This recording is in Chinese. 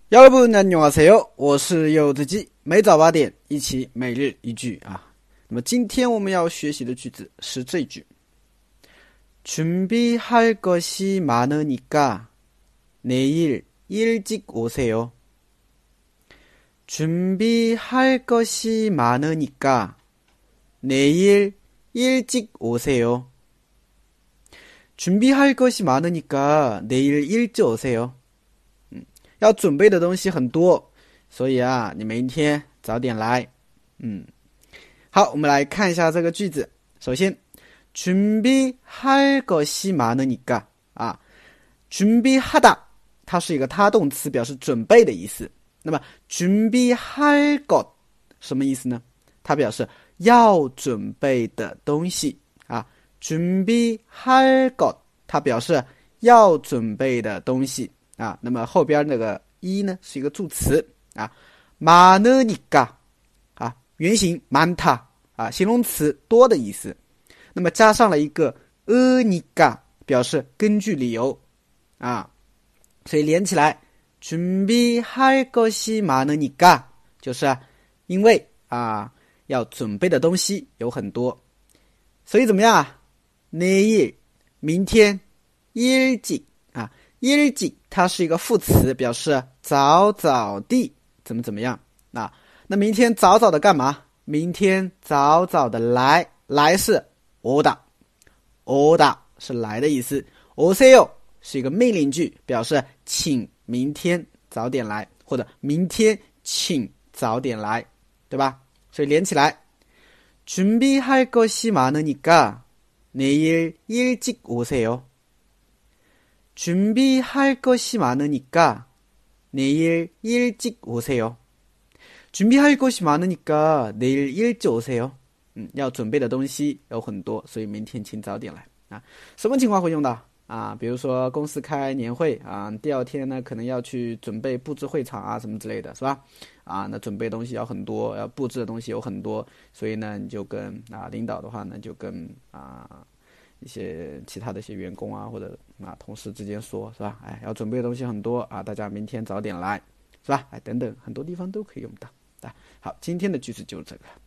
여러분 안녕하세요，我是柚子鸡，每早8点一起每日一句啊。那么今天我们要学习的句子是这句：준비할 것이 많으니까 내일 일찍 오세요. 준비할 것이 많으니까 내일 일찍 오세요. 준비할 것이 많으니까 내일 일찍 오세요. 要准备的东西很多，所以啊，你明天早点来。好，我们来看一下这个句子。首先，준비할 것이 많으니까啊，준비하다，它是一个他动词，表示准备的意思。那么준비할 것什么意思呢？它表示要准备的东西啊。준비할 것，它表示要准备的东西。啊，那么后边那个一呢是一个助词啊，많으니까啊，原形많다啊，形容词多的意思。那么加上了一个으니까，表示根据理由啊，所以连起来준비할 것이 많으니까就是因为啊要准备的东西有很多，所以怎么样啊？내일明天일찍啊。일찍它是一个副词，表示早早地怎么样啊？那明天早早的干嘛？明天早早的来，来是오다是来的意思。오세요是一个命令句，表示请明天早点来，或者明天请早点来，对吧？所以连起来，준비할 것이 많으니까 내일 일찍 오세요. 준비할 것이 많으니까 내일 일찍 오세요. 준비할 것이 많으니까 내일 일찍 오세요. 要准备的东西有很多，所以明天请早点来啊。什么情况会用到啊？比如说公司开年会啊，第二天呢可能要去准备布置会场啊什么之类的，是吧？啊，那准备东西要很多，要布置的东西有很多，所以呢你就跟领导的话呢就跟一些其他的一些员工啊或者同事之间说，是吧？哎，要准备的东西很多啊，大家明天早点来，是吧？哎，等等，很多地方都可以用到。好，今天的句子就是这个。